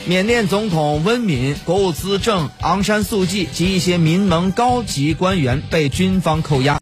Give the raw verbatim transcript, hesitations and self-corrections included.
缅甸总统温敏、国务资政昂山素季及一些民盟高级官员被军方扣押。